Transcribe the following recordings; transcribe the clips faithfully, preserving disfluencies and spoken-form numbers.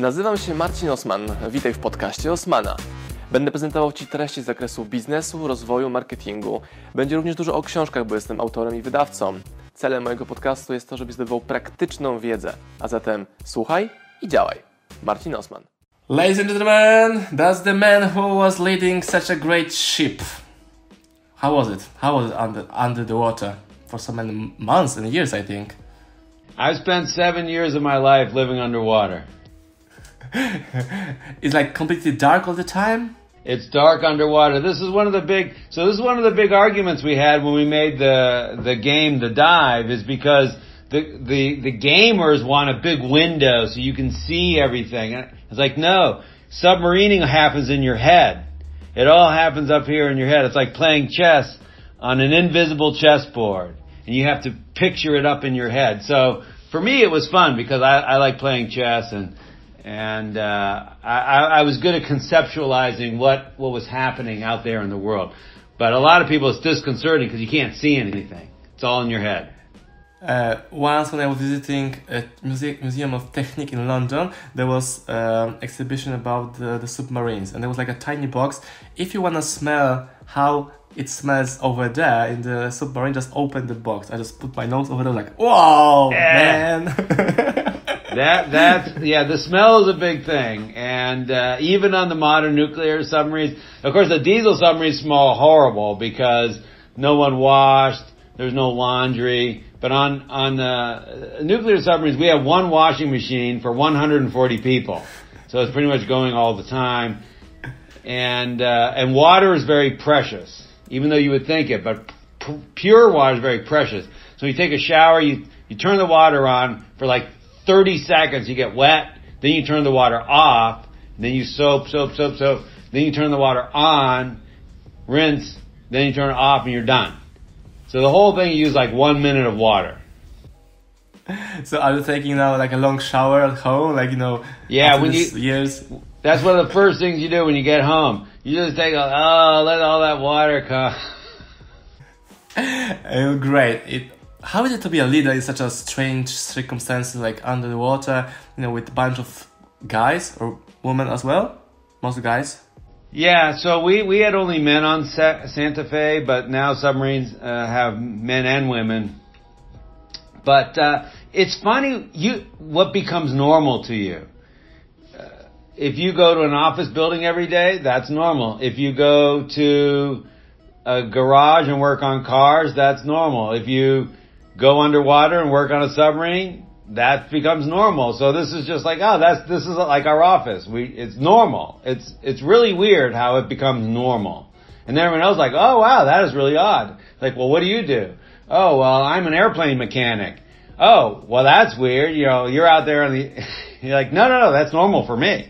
Nazywam się Marcin Osman. Witaj w podcaście Osmana. Będę prezentował Ci treści z zakresu biznesu, rozwoju, marketingu. Będzie również dużo o książkach, bo jestem autorem i wydawcą. Celem mojego podcastu jest to, żebyś zdobywał praktyczną wiedzę. A zatem słuchaj i działaj. Marcin Osman. Ladies and gentlemen, that's the man who was leading such a great ship. How was it? How was it under, under the water? For so many months and years, I think. I've spent seven years of my life living underwater. It's like completely dark all the time? It's dark underwater. This is one of the big, so this is one of the big arguments we had when we made the, the game, The Dive, is because the, the, the gamers want a big window so you can see everything. And it's like, no, submarining happens in your head. It all happens up here in your head. It's like playing chess on an invisible chessboard. And you have to picture it up in your head. So for me, it was fun because I, I like playing chess and, and, uh, I, I was good at conceptualizing what, what was happening out there in the world. But a lot of people, it's disconcerting because you can't see anything. It's all in your head. Uh, once when I was visiting a muse- Museum of Technique in London, there was an um, exhibition about the, the submarines. And there was like a tiny box. If you want to smell how it smells over there in the submarine, just open the box. I just put my nose over there like, whoa, yeah. Man. that, that's, yeah, the smell is a big thing. And, uh, even on the modern nuclear submarines, of course the diesel submarines smell horrible because no one washed, there's no laundry. But on, on, uh, nuclear submarines, we have one washing machine for one hundred forty people. So it's pretty much going all the time. And, uh, and water is very precious. Even though you would think it, but p- pure water is very precious. So you take a shower, you, you turn the water on for like thirty seconds, you get wet, then you turn the water off, then you soap, soap, soap, soap, then you turn the water on, rinse, then you turn it off and you're done. So the whole thing, you use like one minute of water. So are you taking now like a long shower at home, like, you know, yeah, when you, years? That's one of the first things you do when you get home. You just take, a, oh, let all that water come. Oh, great. It, how is it to be a leader in such a strange circumstances, like under the water, you know, with a bunch of guys or women as well? Most guys? Yeah, so we, we had only men on Sa- Santa Fe, but now submarines uh, have men and women. But uh, it's funny, you what becomes normal to you. If you go to an office building every day, that's normal. If you go to a garage and work on cars, that's normal. If you go underwater and work on a submarine, that becomes normal. So this is just like, oh, that's, this is like our office. We, it's normal. It's, it's really weird how it becomes normal. And then everyone else is like, oh wow, that is really odd. Like, well, what do you do? Oh, well, I'm an airplane mechanic. Oh, well, that's weird. You know, you're out there and the, you're like, no, no, no, that's normal for me.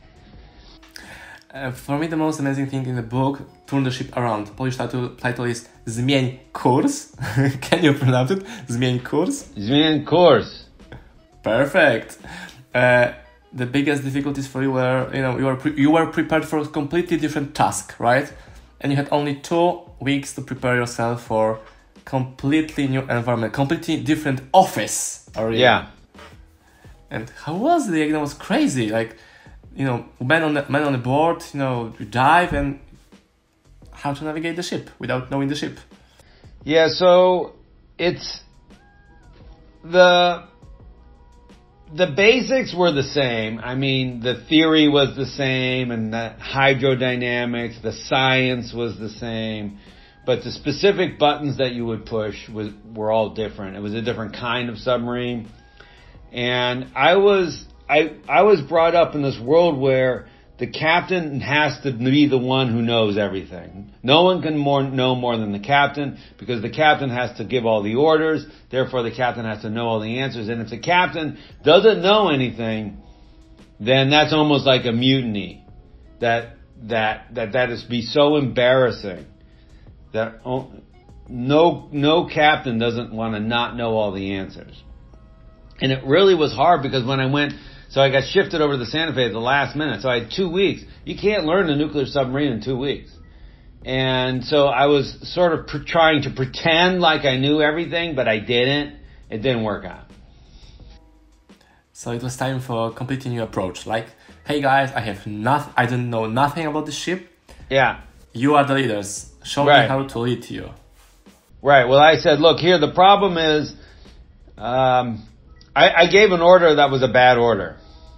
Uh, for me, the most amazing thing in the book, Turn the Ship Around. Polish title, title is Zmień kurs. Can you pronounce it? Zmień kurs? Zmień kurs. Perfect. Uh, the biggest difficulties for you were, you know, you were pre- you were prepared for a completely different task, right? And you had only two weeks to prepare yourself for completely new environment, completely different office. Or, yeah. And how was it? It was crazy. Like, you know, men on the men on the board, you know, you dive and how to navigate the ship without knowing the ship. Yeah, so it's the the basics were the same. I mean, the theory was the same and the hydrodynamics, the science was the same, but the specific buttons that you would push was were all different. It was a different kind of submarine. And I was I, I was brought up in this world where the captain has to be the one who knows everything. No one can more, know more than the captain because the captain has to give all the orders. Therefore, the captain has to know all the answers. And if the captain doesn't know anything, then that's almost like a mutiny. That, that, that, that is be so embarrassing that no, no captain doesn't want to not know all the answers. And it really was hard because when I went, so I got shifted over to the Santa Fe at the last minute. So I had two weeks. You can't learn a nuclear submarine in two weeks. And so I was sort of pre- trying to pretend like I knew everything, but I didn't. It didn't work out. So it was time for a completely new approach. Like, hey guys, I have nothing, I don't know nothing about the ship. Yeah. You are the leaders. Show Right. me how to lead you. Right. Well, I said, look, here, the problem is, um, I, I gave an order that was a bad order.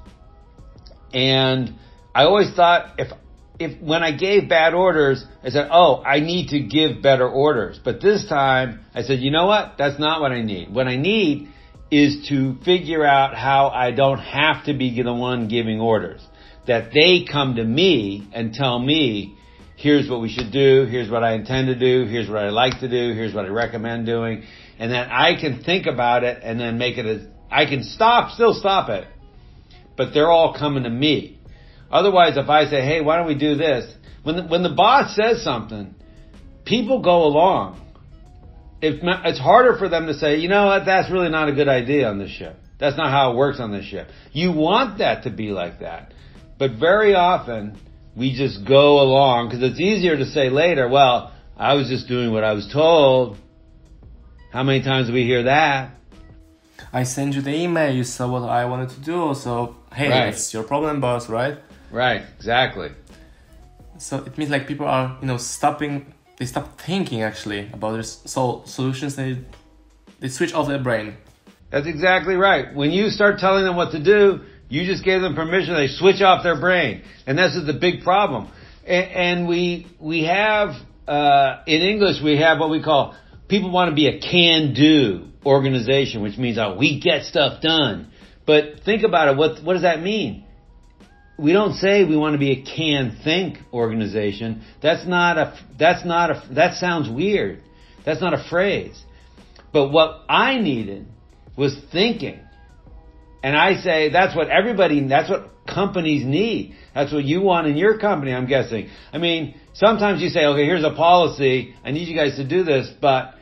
And I always thought if, if, when I gave bad orders, I said, oh, I need to give better orders. But this time, I said, you know what? That's not what I need. What I need is to figure out how I don't have to be the one giving orders. That they come to me and tell me, here's what we should do, here's what I intend to do, here's what I like to do, here's what I recommend doing, and then I can think about it and then make it as, I can stop, still stop it, but they're all coming to me. Otherwise, if I say, hey, why don't we do this? When the, when the boss says something, people go along. If, it's harder for them to say, you know what, that's really not a good idea on this ship. That's not how it works on this ship. You want that to be like that. But very often, we just go along, because it's easier to say later, well, I was just doing what I was told. How many times do we hear that? I sent you the email, you saw what I wanted to do, so hey, Right. it's your problem, boss, right? Right, exactly. So it means like people are, you know, stopping, they stop thinking actually about their sol- solutions, they, they switch off their brain. That's exactly right. When you start telling them what to do, you just gave them permission, they switch off their brain. And this is the big problem. And, and we, we have, uh, in English, we have what we call, people want to be a can-do organization, which means, oh, we get stuff done. But think about it, what, what does that mean? We don't say we want to be a can-think organization. That's not a, that's not a, that sounds weird. That's not a phrase. But what I needed was thinking. And I say that's what everybody, that's what companies need. That's what you want in your company, I'm guessing. I mean, sometimes you say, okay, here's a policy. I need you guys to do this. But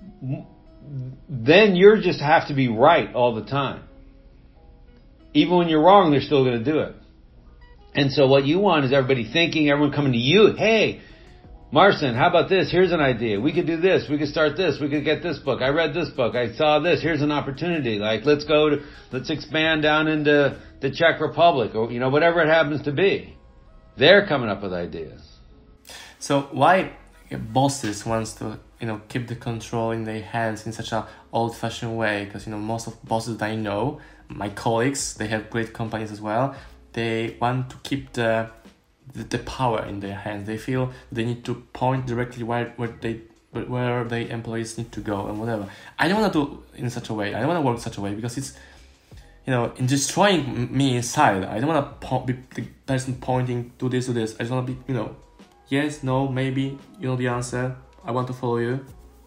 then you just have to be right all the time. Even when you're wrong, they're still going to do it. And so what you want is everybody thinking, everyone coming to you. Hey, Marcin, how about this? Here's an idea. We could do this. We could start this. We could get this book. I read this book. I saw this. Here's an opportunity. Like, let's go to, let's expand down into the Czech Republic or, you know, whatever it happens to be. They're coming up with ideas. So why bosses wants to, you know, keep the control in their hands in such a old-fashioned way? Because, you know, most of bosses that I know, my colleagues, they have great companies as well. They want to keep the The, the power in their hands. They feel they need to point directly where where they where their employees need to go and whatever. I don't want to do in such a way. I don't want to work such a way because it's, you know, in destroying me inside. I don't want to po- be the person pointing to this to this. I just want to be, you know, yes, no, maybe, you know the answer. I want to follow you.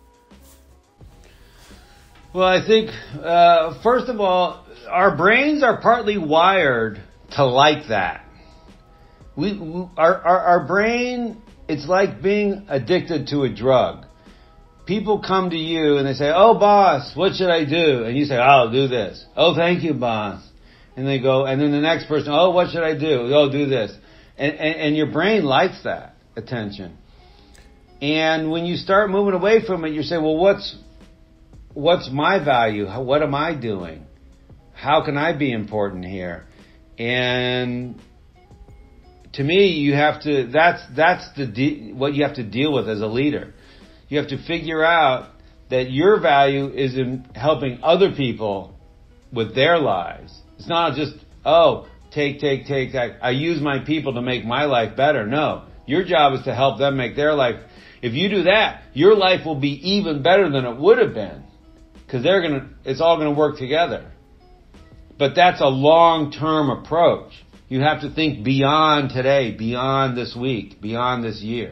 Well, I think uh, first of all, our brains are partly wired to like that. We, we our, our our brain, it's like being addicted to a drug. People come to you and they say, "Oh, boss, what should I do?" And you say, "I'll do this." "Oh, thank you, boss." And they go, and then the next person, "Oh, what should I do?" "Oh, do this." And, and and your brain likes that attention. And when you start moving away from it, you say, "Well, what's what's my value? How, what am I doing? How can I be important here?" And to me, you have to, that's, that's the, de- what you have to deal with as a leader. You have to figure out that your value is in helping other people with their lives. It's not just, oh, take, take, take, I, I use my people to make my life better. No, your job is to help them make their life. If you do that, your life will be even better than it would have been. Because they're gonna, it's all gonna work together. But that's a long-term approach. You have to think beyond today, beyond this week, beyond this year.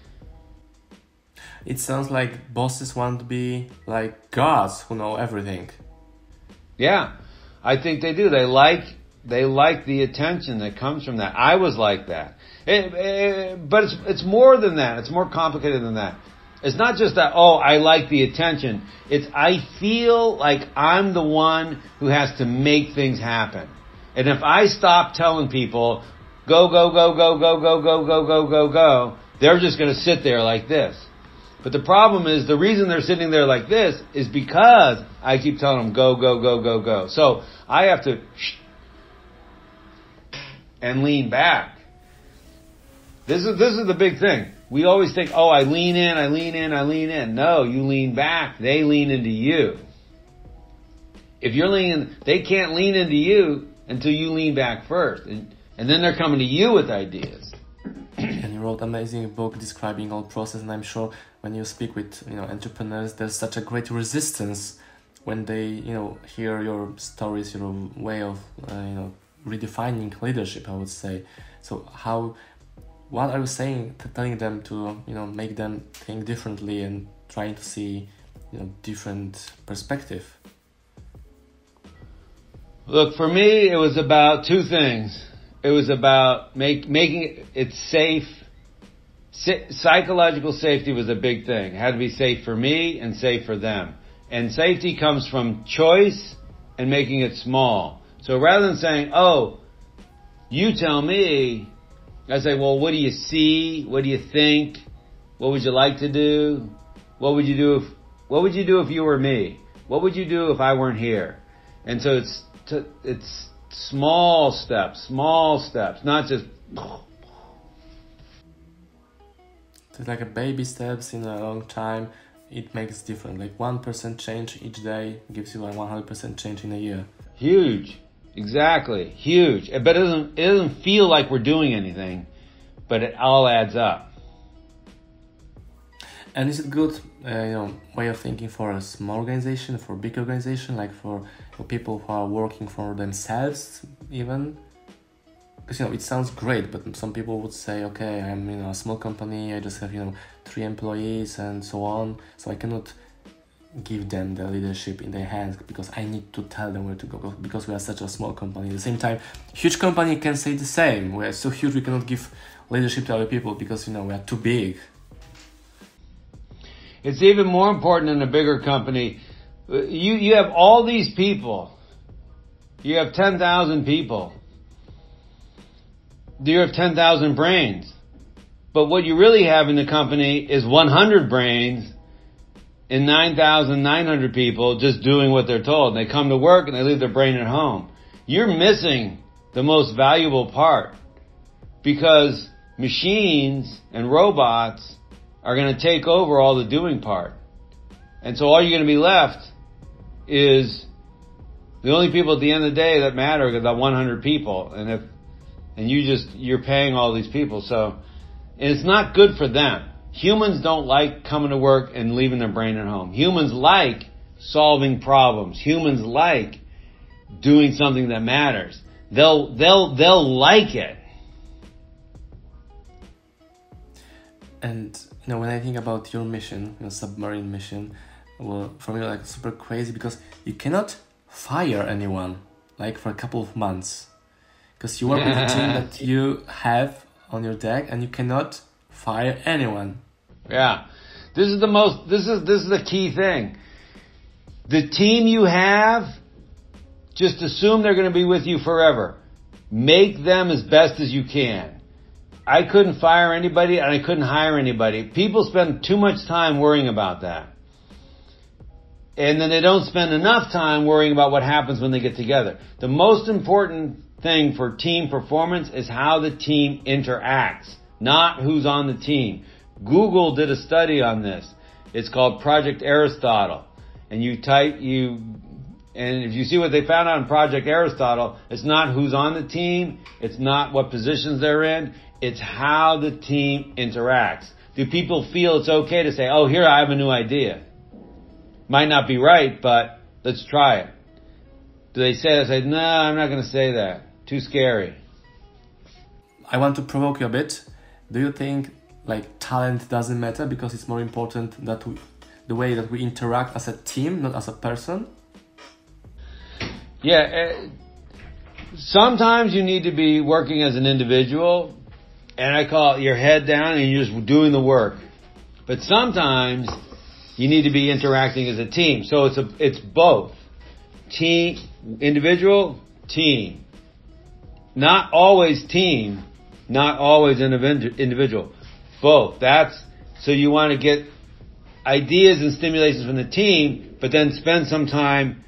It sounds like bosses want to be like gods who know everything. Yeah, I think they do. They like they like the attention that comes from that. I was like that, it, it, but it's it's more than that. It's more complicated than that. It's not just that, oh, I like the attention. It's I feel like I'm the one who has to make things happen. And if I stop telling people, go, go, go, go, go, go, go, go, go, go, go, they're just going to sit there like this. But the problem is the reason they're sitting there like this is because I keep telling them go, go, go, go, go. So I have to and lean back. This is this is the big thing. We always think, oh, I lean in, I lean in, I lean in. No, you lean back. They lean into you. If you're leaning, they can't lean into you until you lean back first. And, and then they're coming to you with ideas. And you wrote an amazing book describing all process, and I'm sure when you speak with you know entrepreneurs, there's such a great resistance when they you know hear your stories, your way of uh, you know redefining leadership, I would say. So how, what are you saying, to telling them to you know make them think differently and trying to see you know different perspective? Look, for me, it was about two things. It was about make, making it safe. Psychological safety was a big thing. It had to be safe for me and safe for them. And safety comes from choice and making it small. So rather than saying, oh, you tell me, I say, well, what do you see? What do you think? What would you like to do? What would you do if, what would you do if you were me? What would you do if I weren't here? And so it's, to, it's small steps, small steps, not just. It's like a baby steps in a long time. It makes different. Like one percent change each day gives you a one hundred percent change in a year. Huge, exactly, huge. But it doesn't. It doesn't feel like we're doing anything, but it all adds up. And is it good, uh, you know, way of thinking for a small organization, for a big organization, like for, for people who are working for themselves, even? Because, you know, it sounds great, but some people would say, okay, I'm, you know, a small company, I just have, you know, three employees and so on, so I cannot give them the leadership in their hands because I need to tell them where to go because we are such a small company. At the same time, huge company can say the same. We are so huge we cannot give leadership to other people because, you know, we are too big. It's even more important in a bigger company. You you have all these people. You have ten thousand people. You have ten thousand brains. But what you really have in the company is one hundred brains and nine thousand nine hundred people just doing what they're told. They come to work and they leave their brain at home. You're missing the most valuable part because machines and robots are going to take over all the doing part. And so all you're going to be left is the only people at the end of the day that matter are the one hundred people. And if, and you just, you're paying all these people. So, and it's not good for them. Humans don't like coming to work and leaving their brain at home. Humans like solving problems. Humans like doing something that matters. They'll, they'll, they'll like it. And you know, when I think about your mission, your submarine mission, well, for me, like super crazy because you cannot fire anyone like for a couple of months because you work with a team that you have on your deck, and you cannot fire anyone. Yeah, this is the most. This is this is the key thing. The team you have, just assume they're going to be with you forever. Make them as best as you can. I couldn't fire anybody and I couldn't hire anybody. People spend too much time worrying about that. And then they don't spend enough time worrying about what happens when they get together. The most important thing for team performance is how the team interacts, not who's on the team. Google did a study on this. It's called Project Aristotle. And you type, you, and if you see what they found out in Project Aristotle, it's not who's on the team, it's not what positions they're in, it's how the team interacts. Do people feel it's okay to say, oh, here I have a new idea? Might not be right, but let's try it. Do they say that? Say, no, I'm not going to say that. Too scary. I want to provoke you a bit. Do you think like talent doesn't matter because it's more important that we, the way that we interact as a team, not as a person? Yeah. Uh, sometimes you need to be working as an individual. And I call it your head down and you're just doing the work. But sometimes you need to be interacting as a team. So it's a, it's both. Team, individual, team. Not always team, not always individual. Both. That's, so you want to get ideas and stimulations from the team, but then spend some time.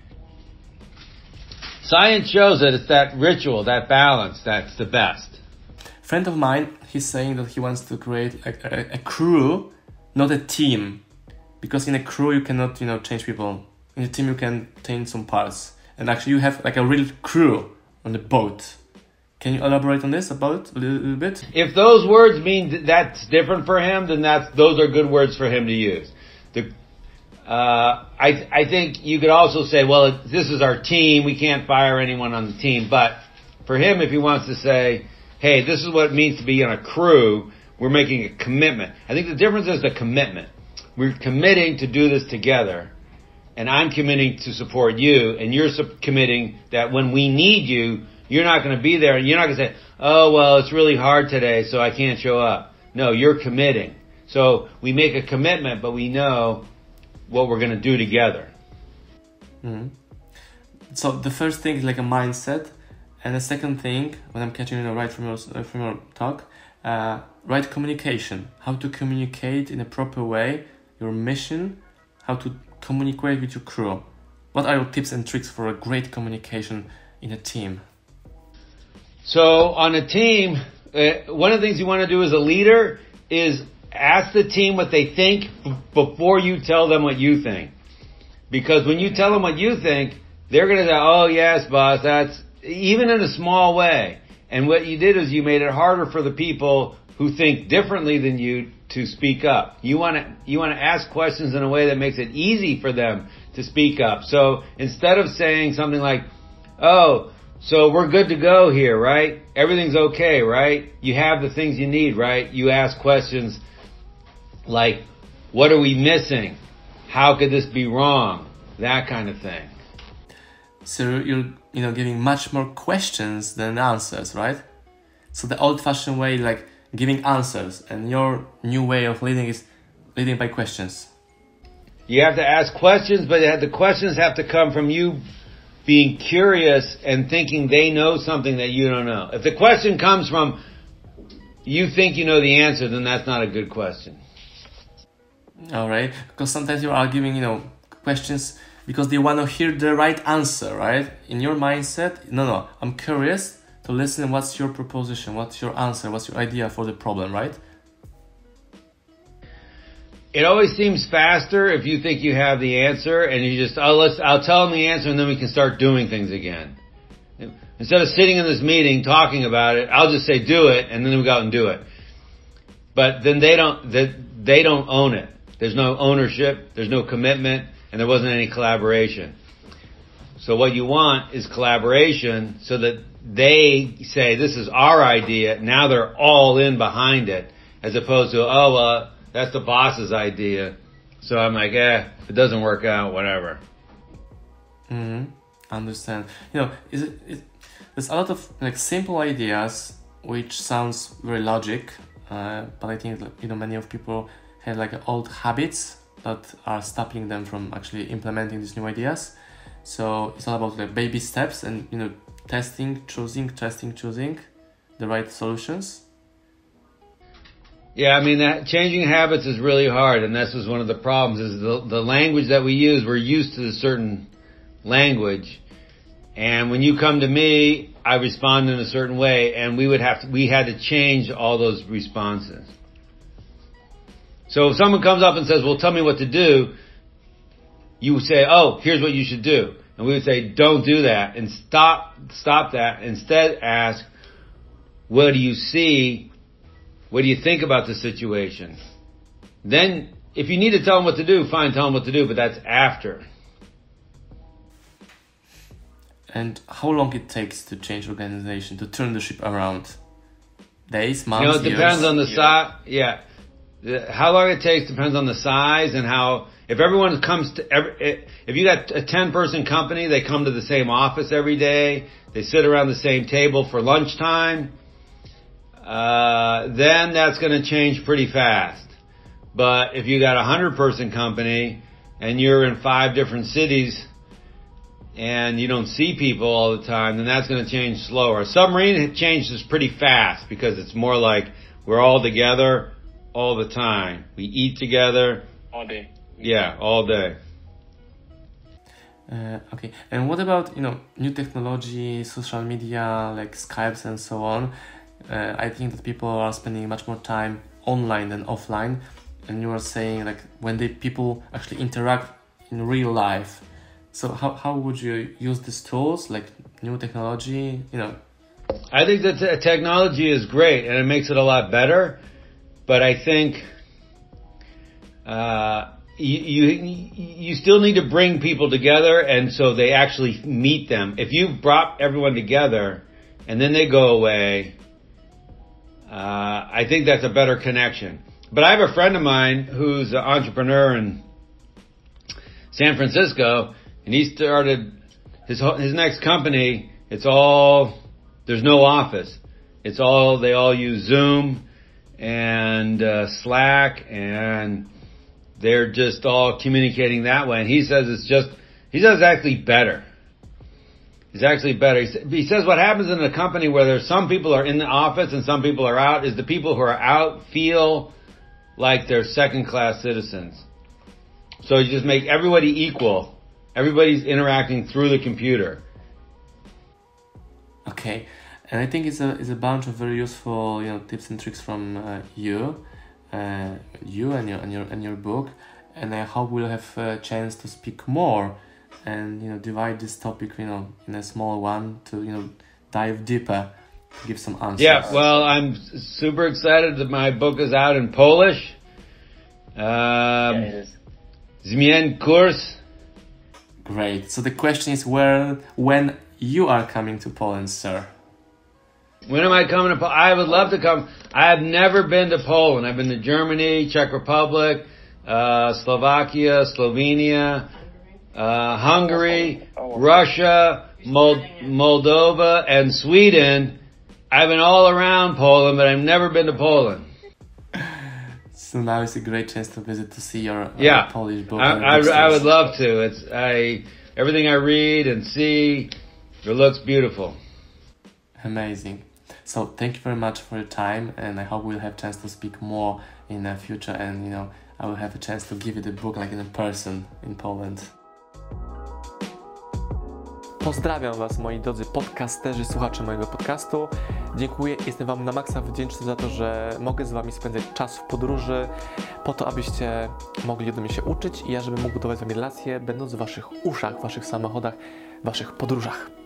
Science shows that it's that ritual, that balance, that's the best. A friend of mine, he's saying that he wants to create a, a, a crew, not a team. Because in a crew you cannot, you know, change people. In a team you can change some parts. And actually you have like a real crew on the boat. Can you elaborate on this about a little, little bit? If those words mean that that's different for him, then that's those are good words for him to use. The, uh, I I think you could also say, well, this is our team. We can't fire anyone on the team. But for him, if he wants to say, hey, this is what it means to be in a crew, we're making a commitment. I think the difference is the commitment. We're committing to do this together. And I'm committing to support you. And you're sub- committing that when we need you, you're not going to be there, and you're not going to say, oh, well, it's really hard today, so I can't show up. No, you're committing. So we make a commitment, but we know what we're going to do together. Mm-hmm. So the first thing is like a mindset, and the second thing, when I'm catching you know, right from your, from your talk, uh, right communication. How to communicate in a proper way, your mission, how to communicate with your crew. What are your tips and tricks for a great communication in a team? So on a team, uh, one of the things you want to do as a leader is ask the team what they think b- before you tell them what you think. Because when you tell them what you think, they're going to say, oh yes, boss, that's, even in a small way. And what you did is you made it harder for the people who think differently than you to speak up. You want to, you want to ask questions in a way that makes it easy for them to speak up. So instead of saying something like, oh, so we're good to go here, right? Everything's okay, right? You have the things you need, right? You ask questions like, what are we missing? How could this be wrong? That kind of thing. So you're, you know, giving much more questions than answers, right? So the old-fashioned way, like giving answers, and your new way of leading is leading by questions. You have to ask questions, but the questions have to come from you being curious and thinking they know something that you don't know. If the question comes from you think you know the answer, then that's not a good question. All right, because sometimes you are giving, you know, questions because they want to hear the right answer, right? In your mindset, no, no, I'm curious to listen. What's your proposition? What's your answer? What's your idea for the problem, right? It always seems faster if you think you have the answer and you just, oh, let's, I'll tell them the answer and then we can start doing things again. Instead of sitting in this meeting talking about it, I'll just say do it and then we go out and do it. But then they don't, they don't own it. There's no ownership, there's no commitment, and there wasn't any collaboration. So what you want is collaboration so that they say, this is our idea, now they're all in behind it, as opposed to, oh, well, that's the boss's idea. So I'm like, eh, if it doesn't work out, whatever. Mm-hmm. Understand. You know, is it, it, there's a lot of like simple ideas which sounds very logic, uh, but I think you know many of people have like old habits that are stopping them from actually implementing these new ideas. So it's all about like baby steps and you know testing, choosing, testing, choosing the right solutions. Yeah, I mean, that changing habits is really hard, and this is one of the problems, is the, the language that we use, we're used to a certain language, and when you come to me, I respond in a certain way, and we would have to, we had to change all those responses. So if someone comes up and says, well, tell me what to do, you would say, oh, here's what you should do. And we would say, don't do that, and stop, stop that. Instead ask, what do you see? What do you think about the situation? Then, if you need to tell them what to do, fine, tell them what to do, but that's after. And how long it takes to change organization, to turn the ship around? Days, months, You know, it years? depends on the size. Yeah. The- How long it takes depends on the size and how, if everyone comes to, every, if you got a ten person company, they come to the same office every day, they sit around the same table for lunchtime, Uh, then that's going to change pretty fast. But if you got a hundred person company and you're in five different cities and you don't see people all the time, then that's going to change slower. A submarine changes pretty fast because it's more like we're all together all the time. We eat together all day. Yeah, all day. Uh, okay, and what about, you know, new technology, social media like Skypes and so on? Uh, I think that people are spending much more time online than offline, and you are saying like when the people actually interact in real life. So how how would you use these tools like new technology? You know, I think that the technology is great and it makes it a lot better, but I think uh, you, you you still need to bring people together, and so they actually meet them. If you brought everyone together and then they go away, uh, I think that's a better connection. But I have a friend of mine who's an entrepreneur in San Francisco, and he started his his next company. It's all, there's no office. It's all, they all use Zoom and uh, Slack, and they're just all communicating that way. And he says it's just, he says it's actually better. It's actually better. He says what happens in a company where there's some people are in the office and some people are out is the people who are out feel like they're second-class citizens. So you just make everybody equal. Everybody's interacting through the computer. okay, and I think it's a it's a bunch of very useful, you know, tips and tricks from uh, you, uh, you and your and your and your book, and I hope we'll have a chance to speak more, and you know, divide this topic, you know, in a small one to, you know, dive deeper, to give some answers. Yeah, well, I'm super excited that my book is out in Polish. Um, Yeah, it is. Zmień kurs. Great. So the question is, where, when you are coming to Poland, sir? When am I coming to Poland? I would love to come. I have never been to Poland. I've been to Germany, Czech Republic, uh, Slovakia, Slovenia, uh, Hungary, Russia, Mol- Moldova, and Sweden. I've been all around Poland, but I've never been to Poland. So now is a great chance to visit to see your uh, Yeah, Polish book. I, and I, I bookstores. would love to. It's I everything I read and see, it looks beautiful. Amazing. So thank you very much for your time, and I hope we'll have chance to speak more in the future, and you know, I will have a chance to give you the book like in person in Poland. Pozdrawiam Was, moi drodzy podcasterzy, słuchacze mojego podcastu. Dziękuję, jestem Wam na maksa wdzięczny za to, że mogę z Wami spędzać czas w podróży, po to, abyście mogli ode mnie się uczyć i ja, żebym mógł budować z Wami relacje, będąc w Waszych uszach, w Waszych samochodach, w Waszych podróżach.